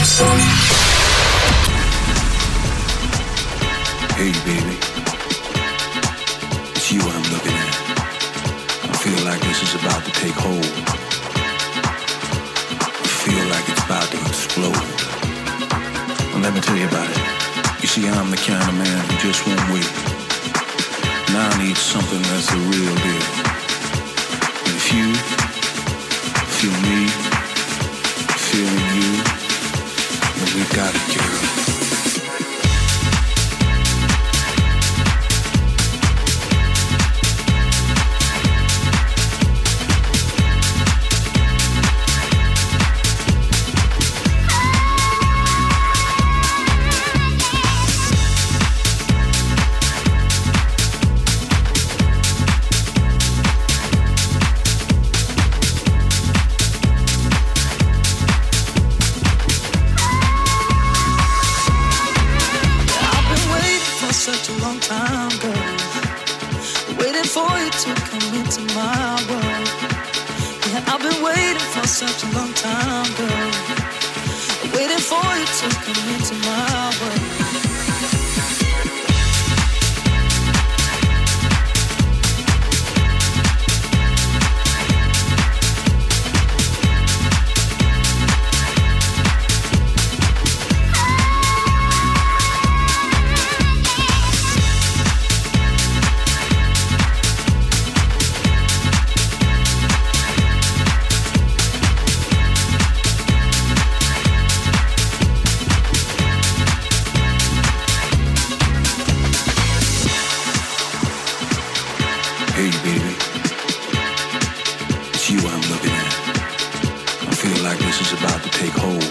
Hey baby, it's you I'm looking at. I feel like this is about to take hold. I feel like it's about to explode. Well, let me tell you about it. You see, I'm the kind of man who just won't wait. Now I need something that's the real deal. And if you feel me, feeling you, then we've got it, girl. Such a long time, girl. Waiting for you to come into my world. Hey baby, it's you I'm looking at. I feel like this is about to take hold.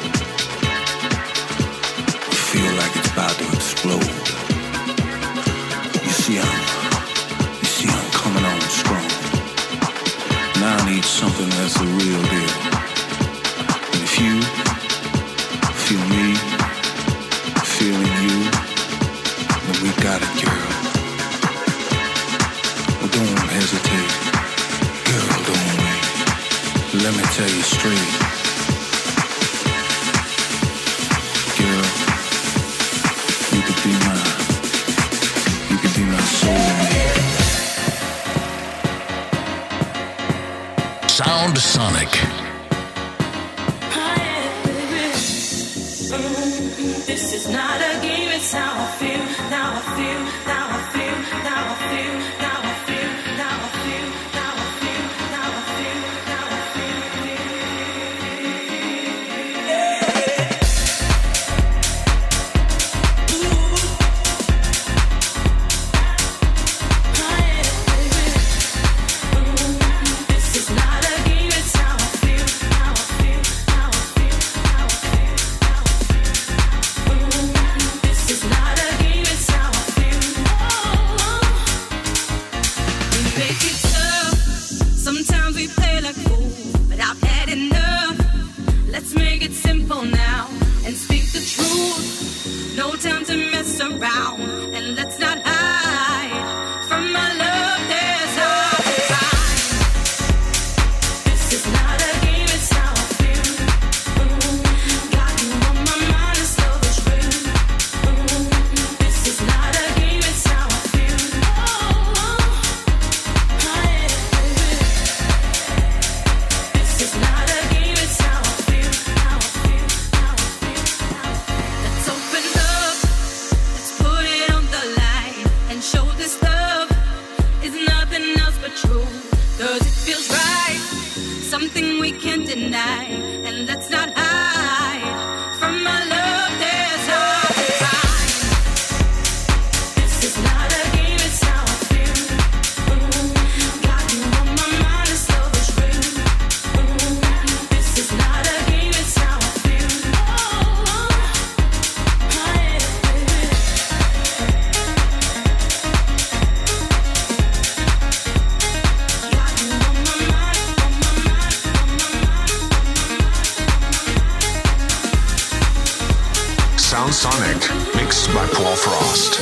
I feel like it's about to explode. You see I'm coming on strong. Now I need something that's the real deal. And if you feel me, feeling you, then we got it, girl. Don't hesitate, girl, don't wait. Let me tell you straight, girl, you could be my soulmate. Sound Sonic. This is not a game, it's how I feel, now I feel, now I feel, now I feel, now I feel, now I feel, now I feel, now I feel, now I feel. This is not a game, it's how I feel, now I feel, now I feel, now I feel, now I feel. This is not a game, it's how I feel. We make it tough. Sometimes we play like fools, but I've had enough. Let's make it simple now and speak the truth. No time to mess around, and let's not hide from my love. There's hard to find. This is not a game, it's how I feel. Got you on my mind, this love is real. This is not a game, it's how I feel. This is not a game, it's how I feel. How I feel, how I feel, how I feel. Let's open up, let's put it on the line and show this love is nothing else but true. 'Cause it feels right, something we can't deny, and let's not hide from my love. There's hard to find. This is not a game, it's how I feel. Got you on my mind, this love is real. This is not a game, it's how I feel. Got you on my mind, on my mind, on my mind, on my mind. Sound Sonic, mixed by Paul Frost.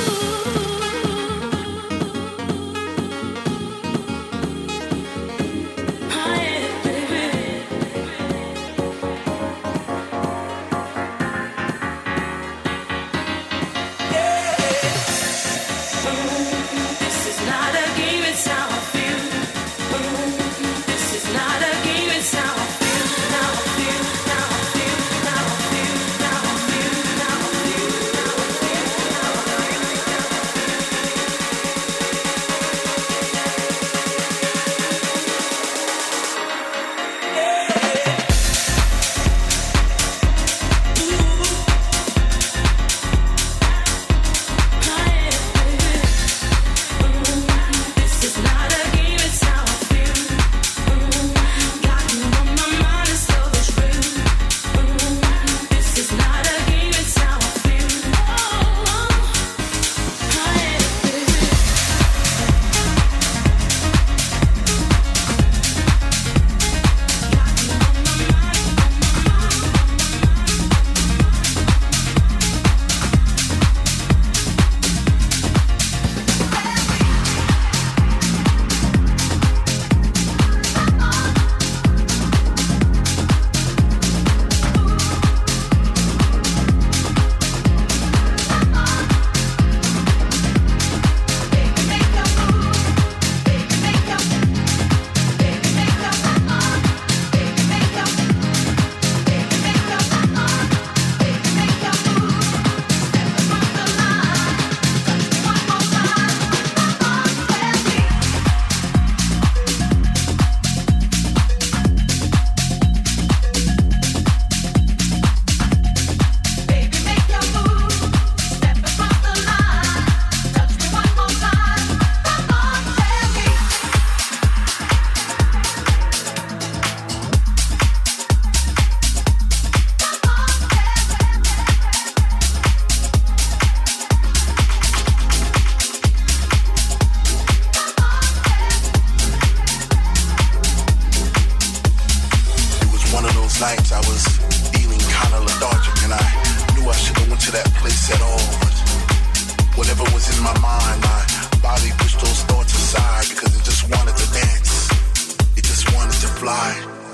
place at all. But whatever was in my mind, my body pushed those thoughts aside because it just wanted to dance. It just wanted to fly.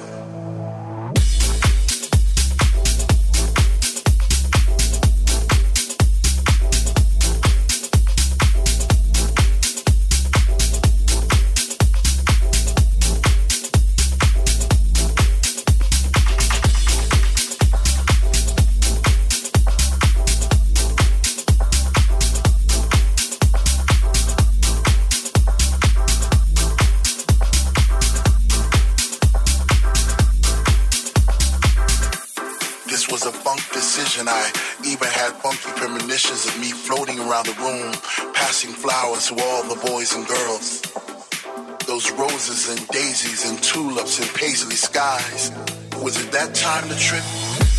I even had funky premonitions of me floating around the room, passing flowers to all the boys and girls. Those roses and daisies and tulips and paisley skies. Was it that time to trip?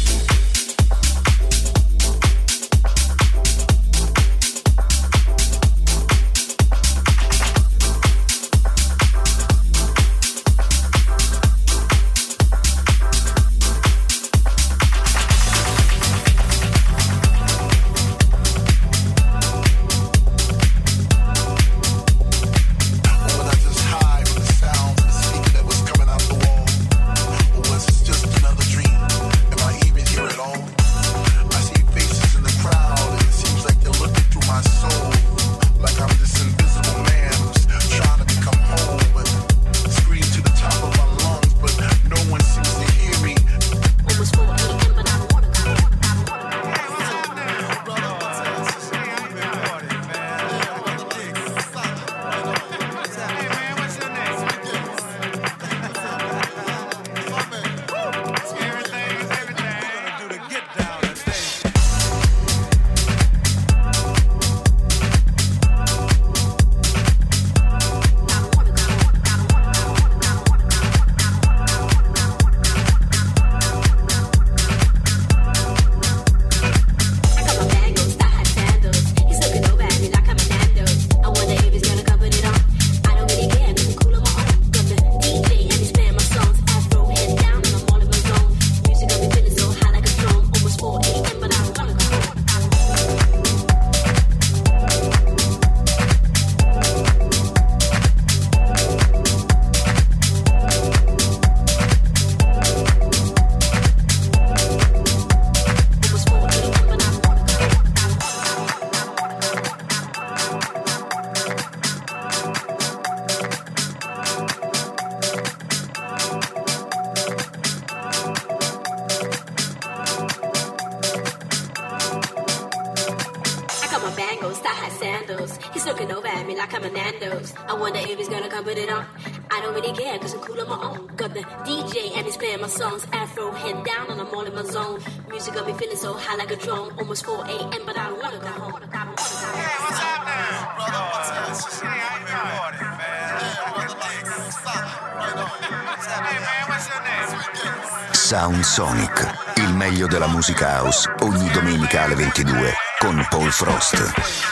Almost 4 a.m., but I don't wanna go home. Hey, what's happening? Brother, what's up? Hey, man, what's your name? Sound Sonic, il meglio della musica house, ogni domenica alle 22 con Paul Frost.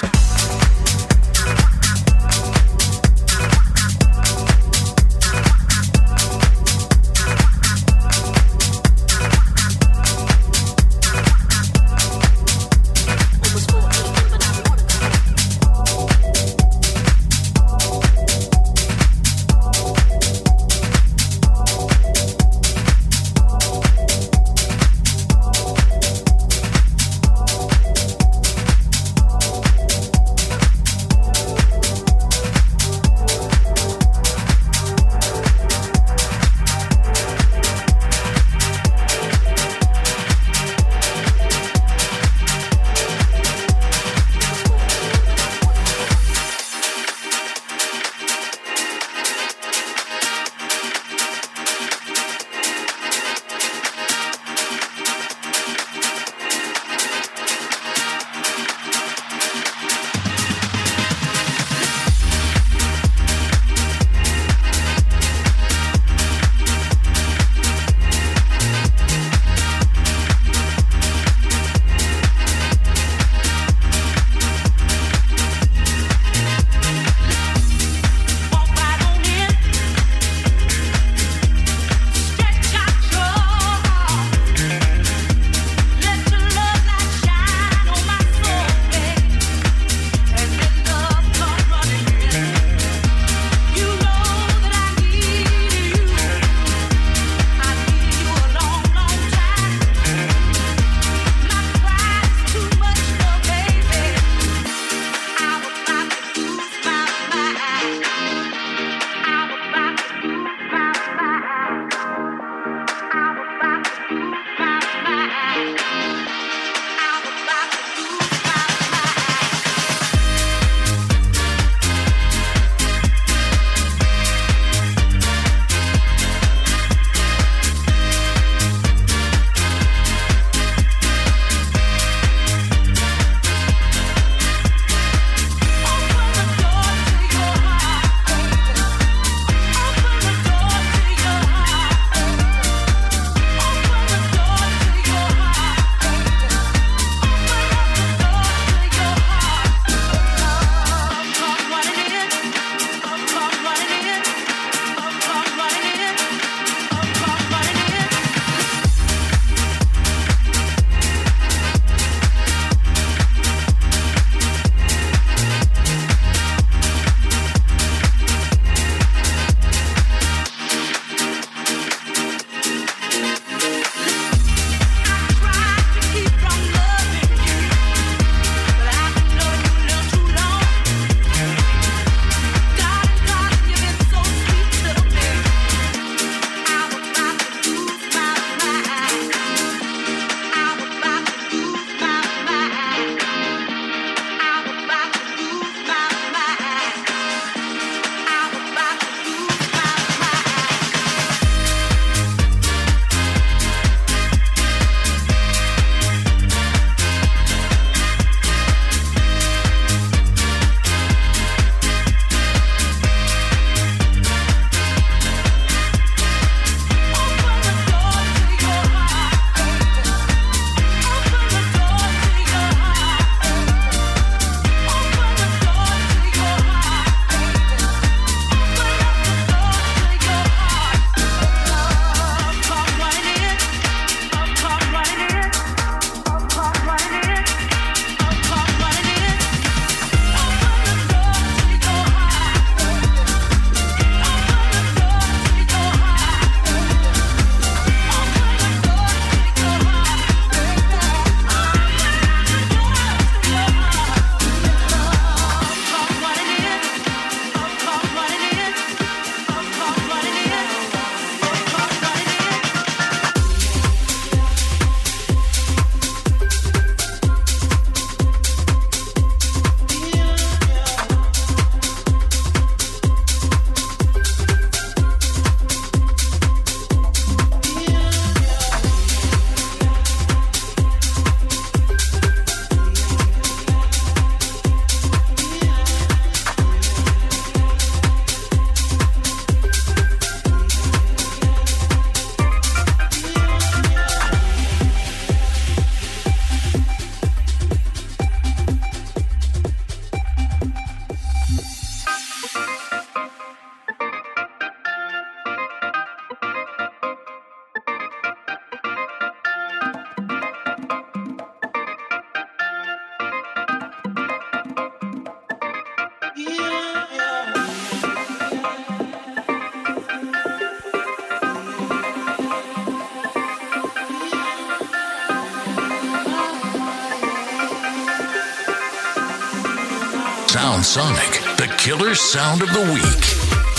Sound Sonic, the killer sound of the week.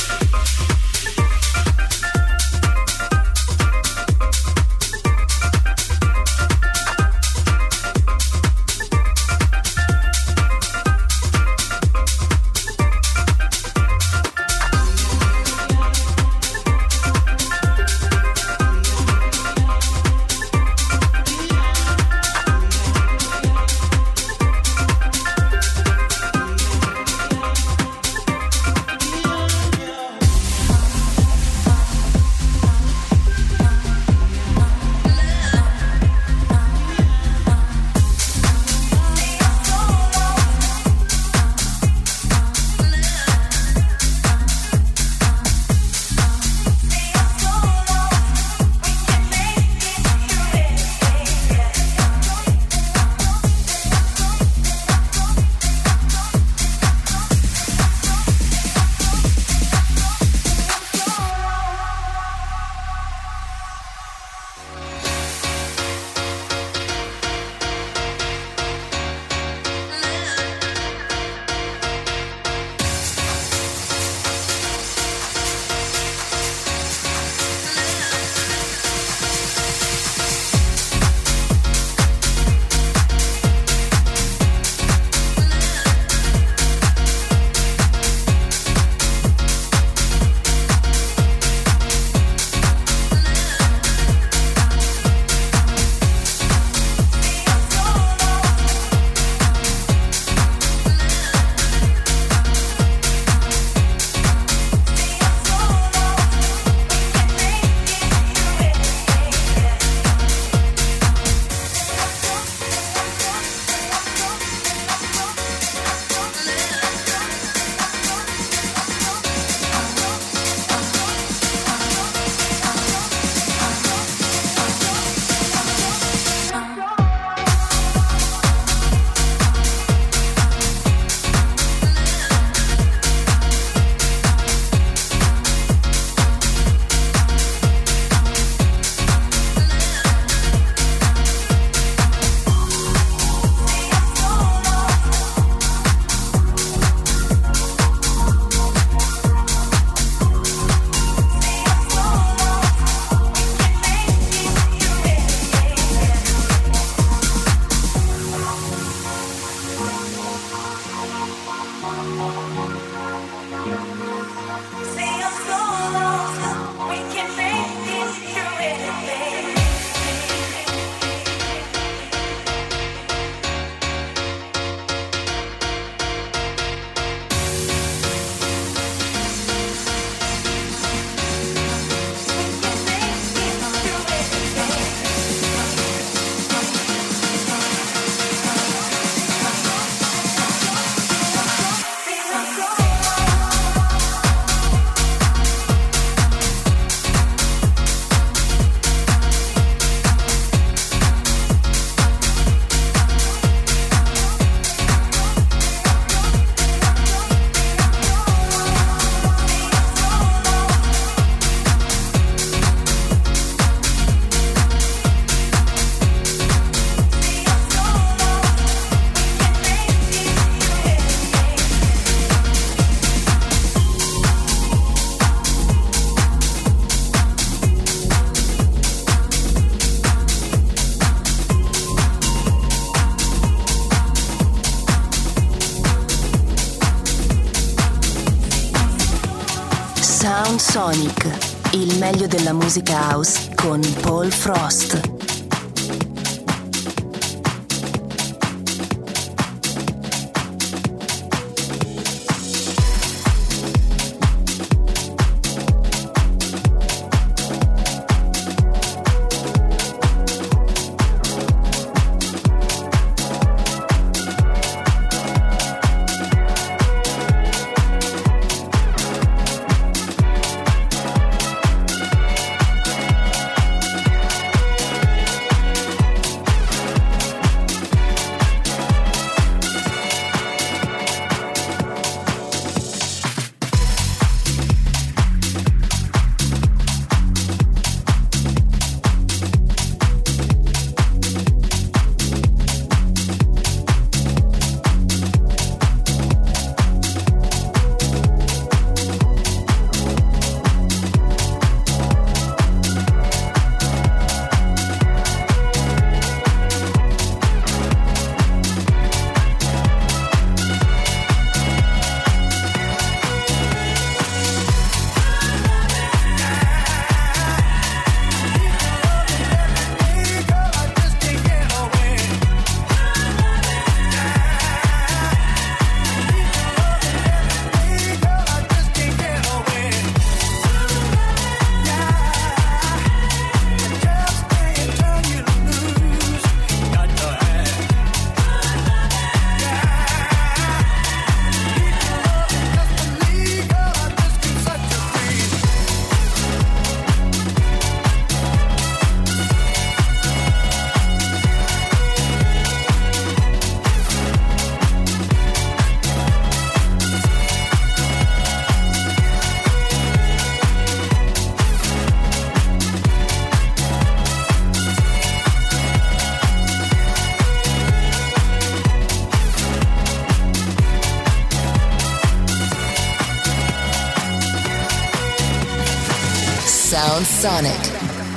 Sound Sonic, il meglio della musica house con Paul Frost. Sound Sonic.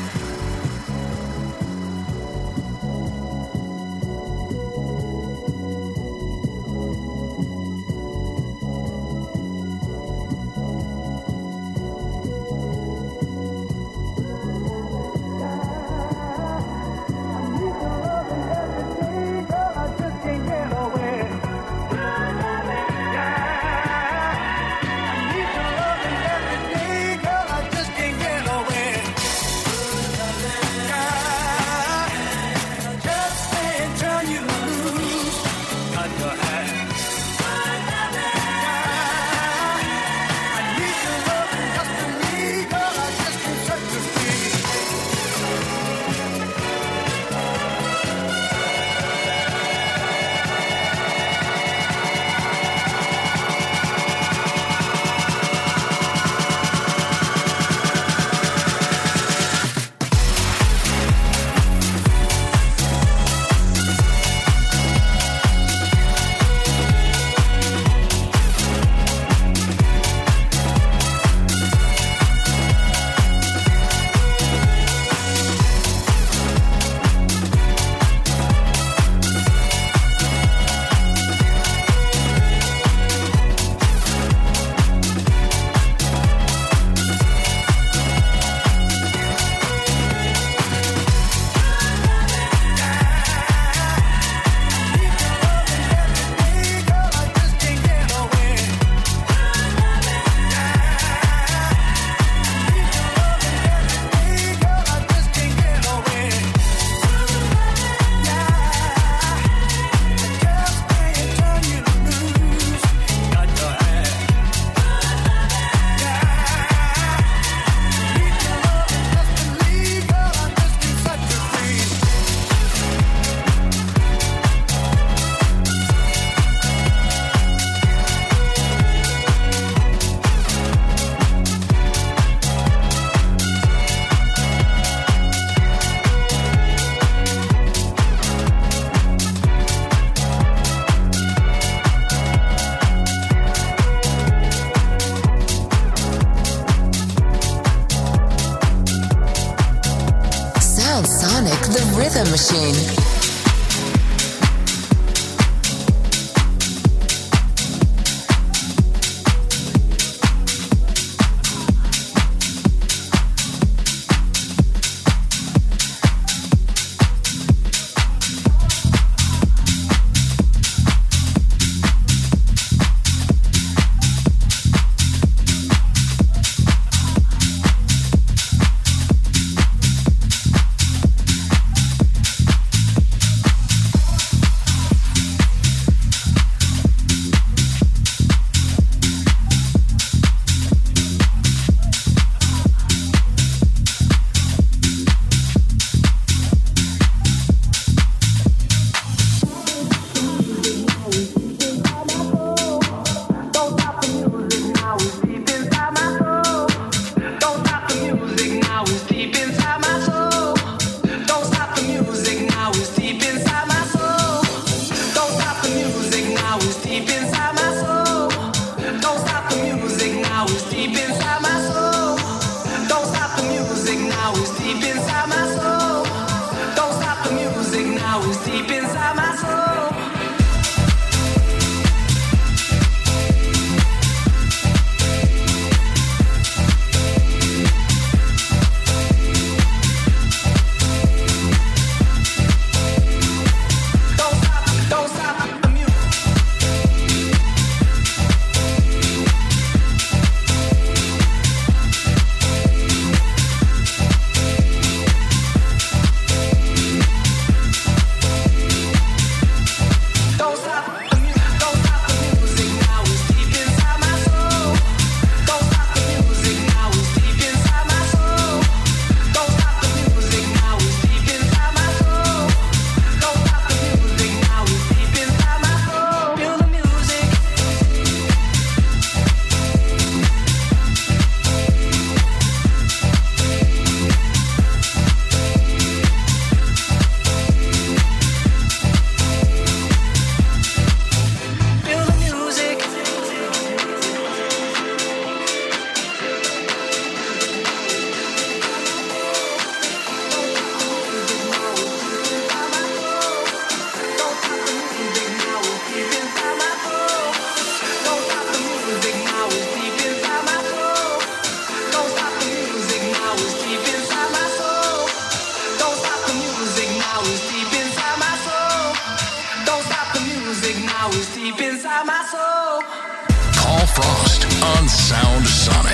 Rhythm Machine. music now is deep inside my soul. Paul Frost on Sound Sonic.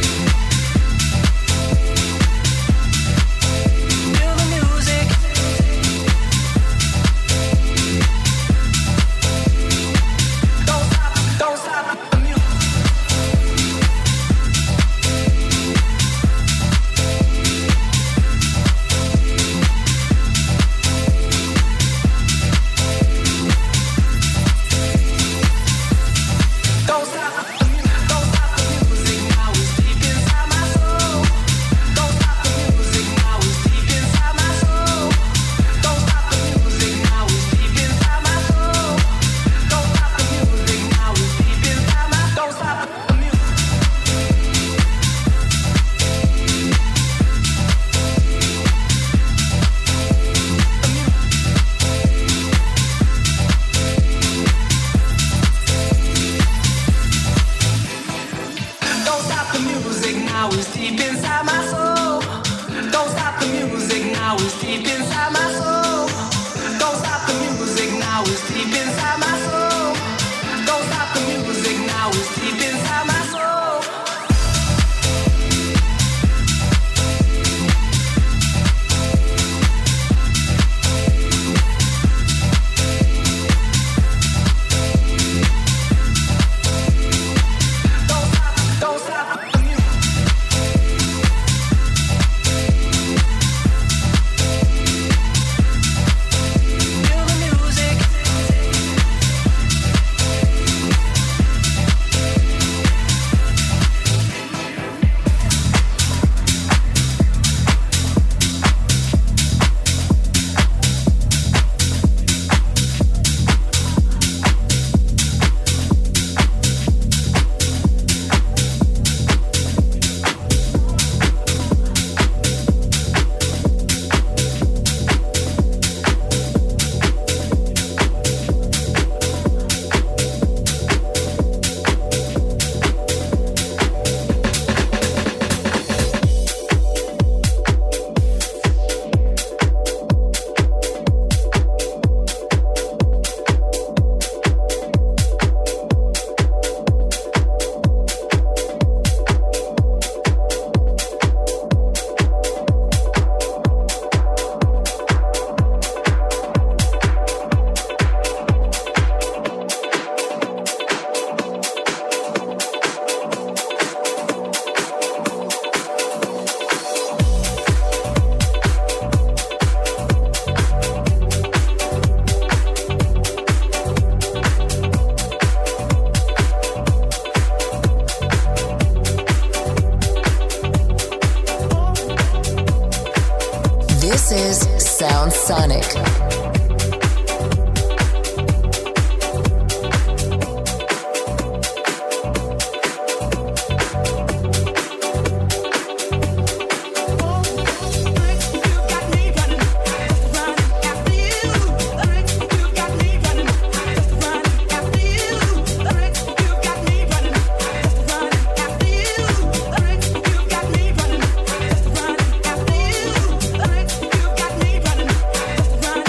This is Sound Sonic. Running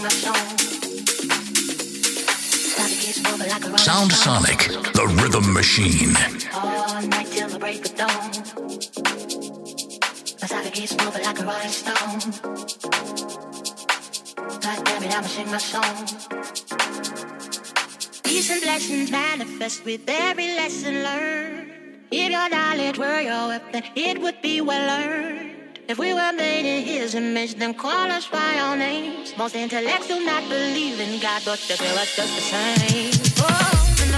Sound Sonic, the rhythm machine. All night till the break of dawn. My side keeps moving like a rolling stone. God damn it, I'ma sing my song. Peace and blessings manifest with every lesson learned. If your knowledge were your weapon, it would be well earned. If we were made in His image, then call us by our names. Most intellects do not believe in God, but they feel us just the same. Oh.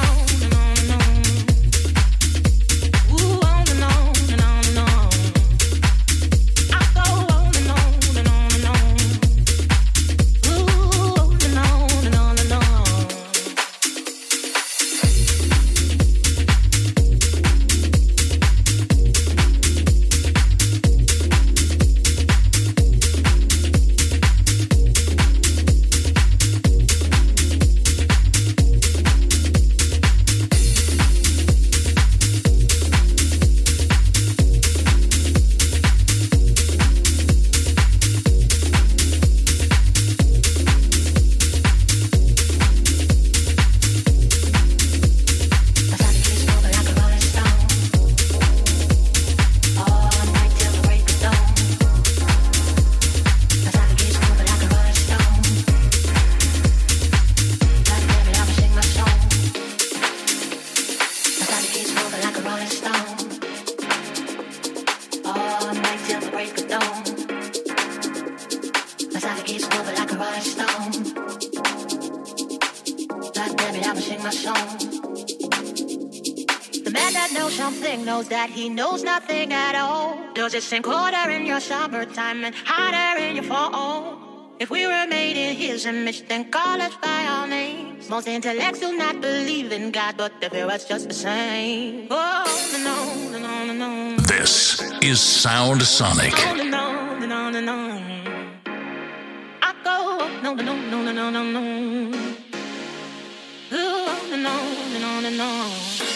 He knows nothing at all. Does it sink colder in your summertime and hotter in your fall? If we were made in His image, then call us by our names. Most intellects do not believe in God, but they fear us just the same. Oh, no, no, no, no, no. This is Sound Sonic. No, no, no, no, no. I go, no, no, no, no, no, no, no. Oh, no, no, no, no, no.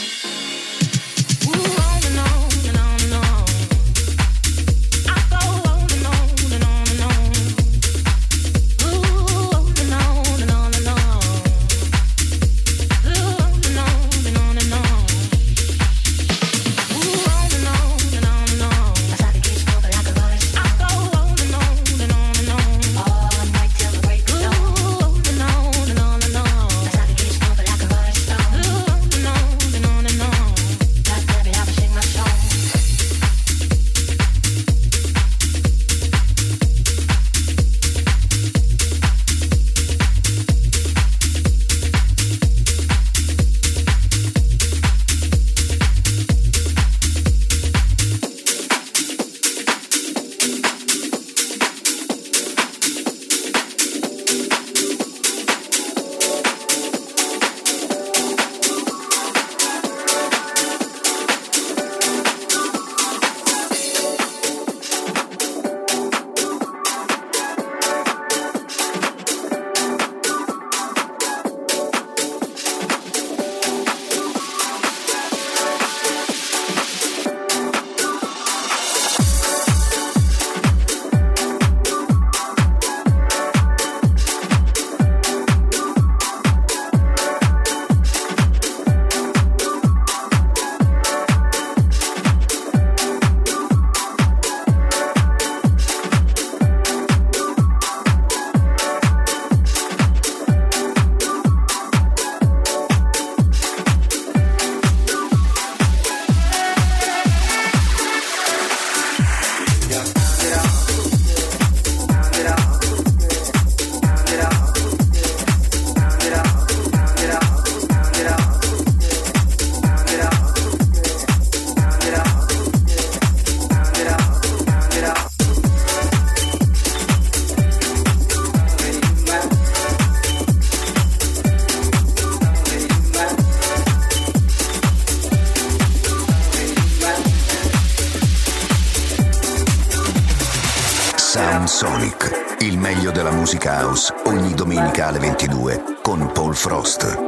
Sound Sonic, il meglio della musica house, ogni domenica alle 22 con Paul Frost.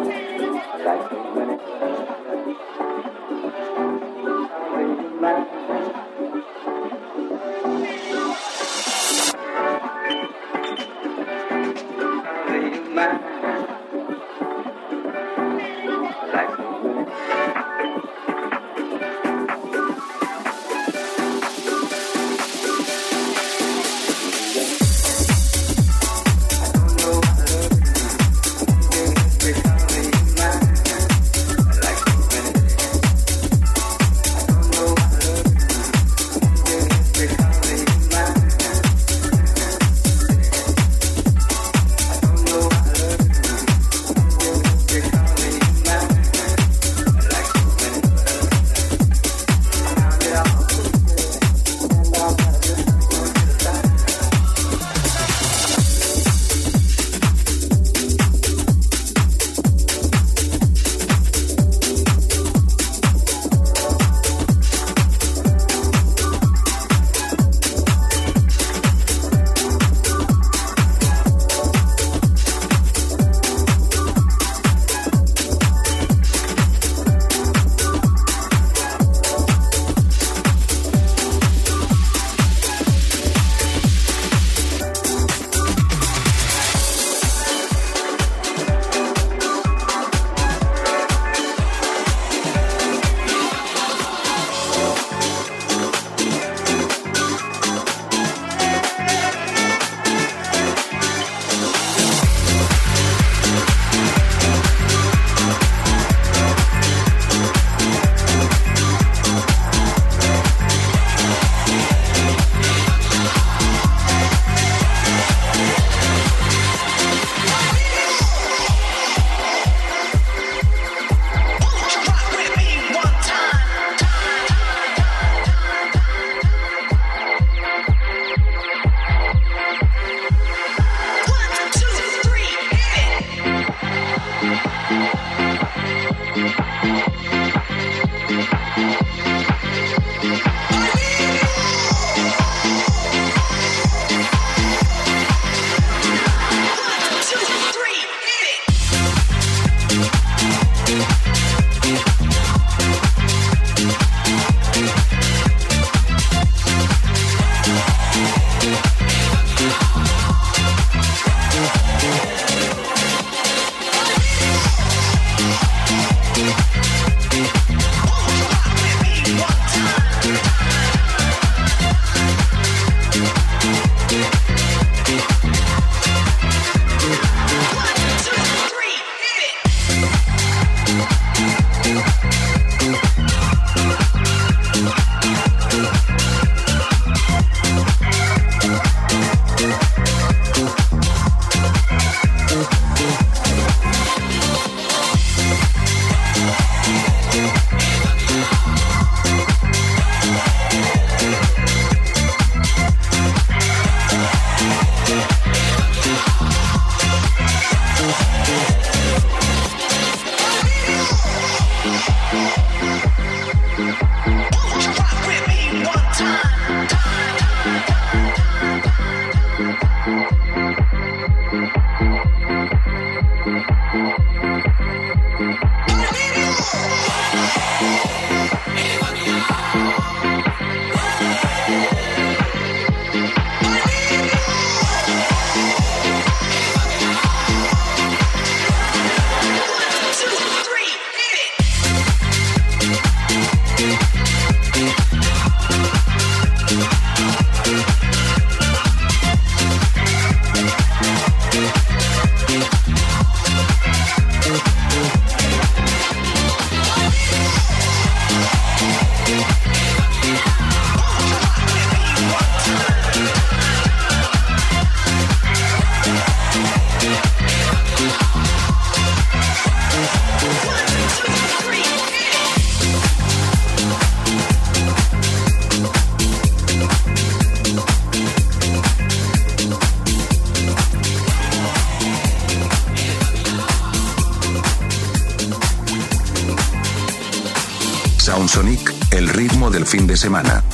Soundsonic, el ritmo del fin de semana.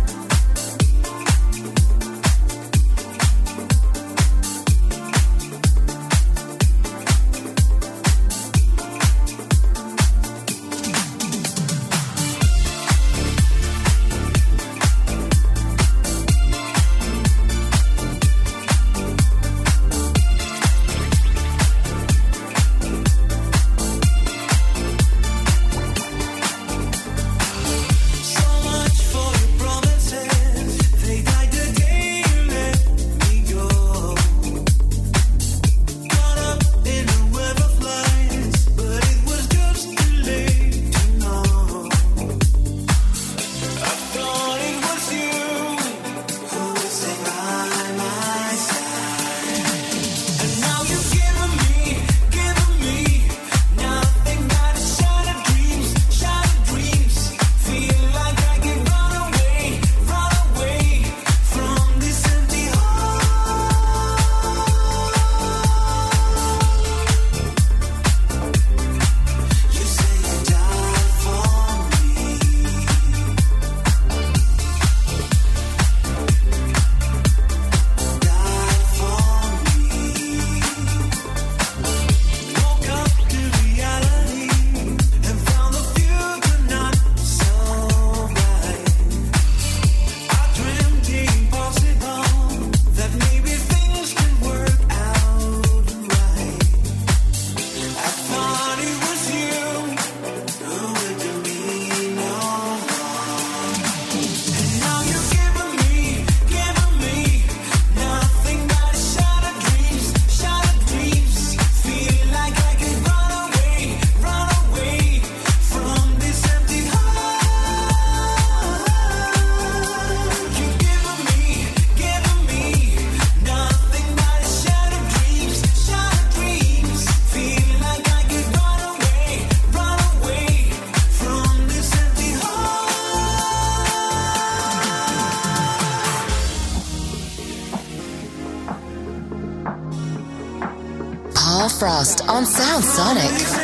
Paul Frost on Sound Sonic.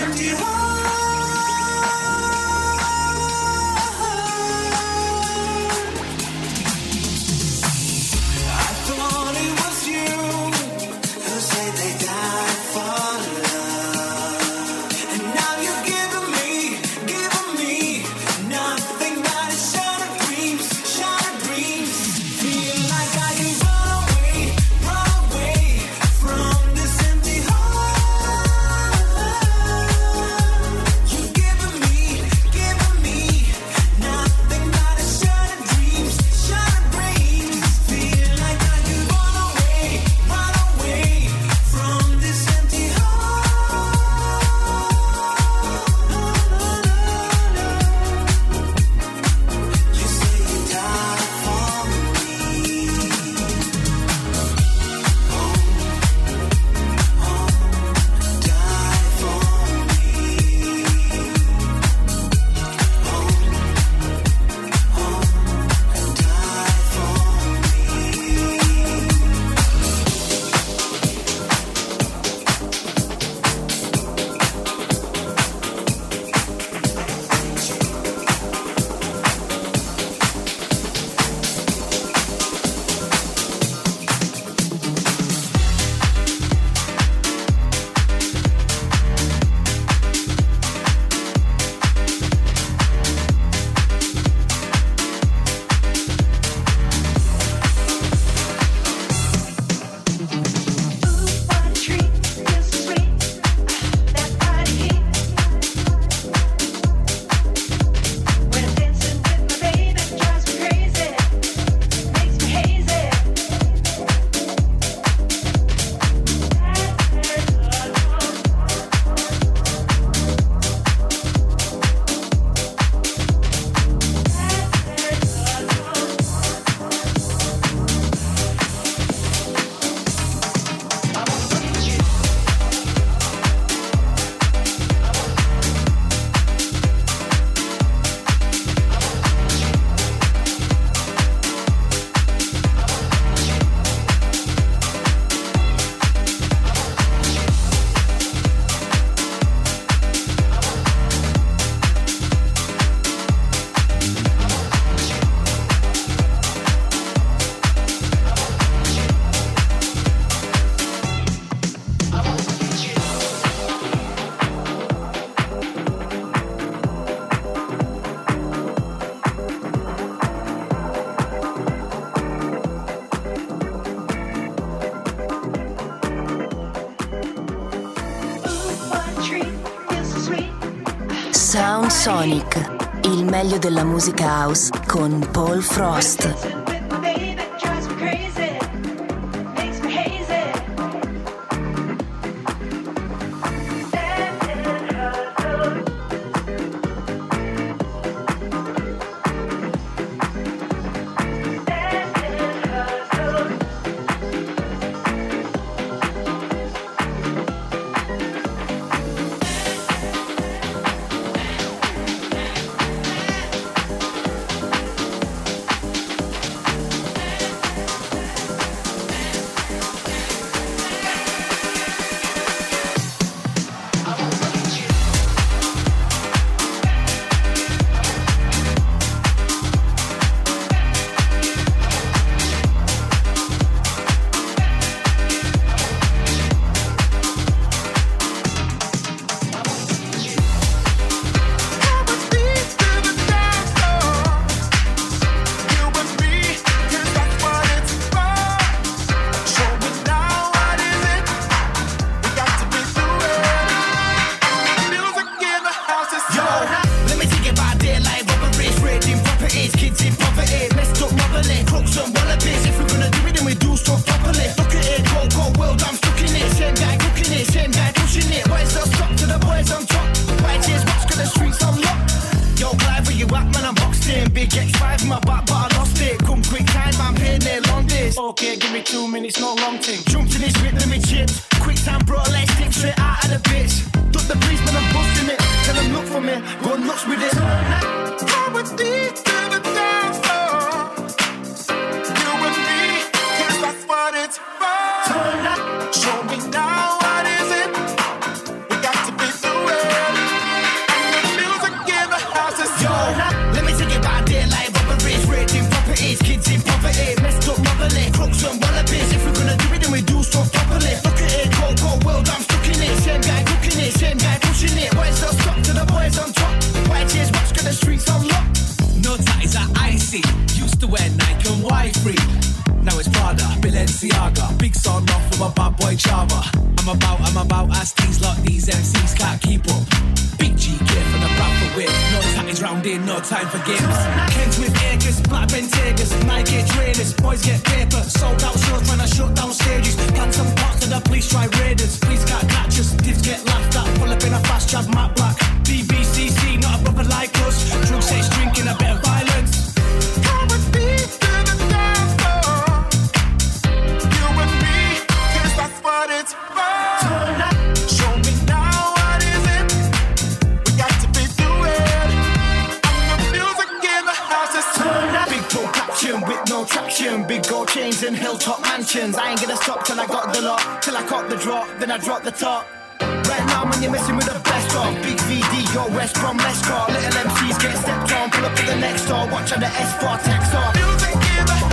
Sound Sonic, il meglio della musica house con Paul Frost. Little MCs get stepped on, pull up to the next door, watch how the S4 text off. Music in the